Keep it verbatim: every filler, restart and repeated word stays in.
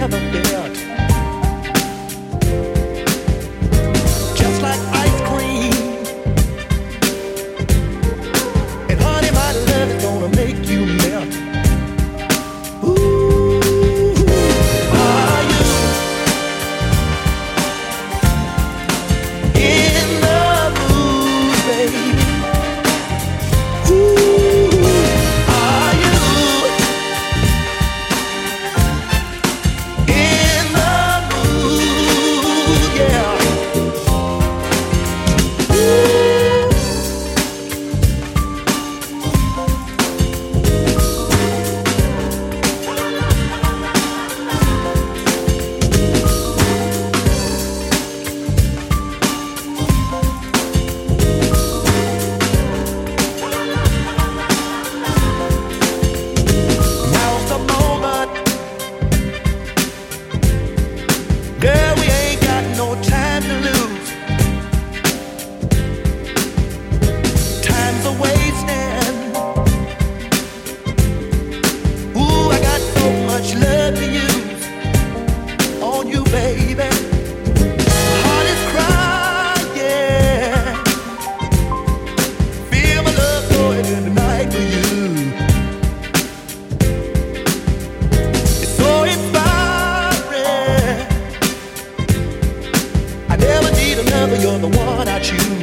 never felt. Just like ice cream. And honey, my love is gonna make you melt. Ooh, are you in the mood, baby? Ooh, are you in the mood? Yeah. Now's the moment. Girl, we ain't got no time to lose. Time's a wasting. Ooh, I got so much love to use on you, baby. My heart is crying. Feel my love going in the night for you. It's so inspiring. I never need another, you're the one I choose.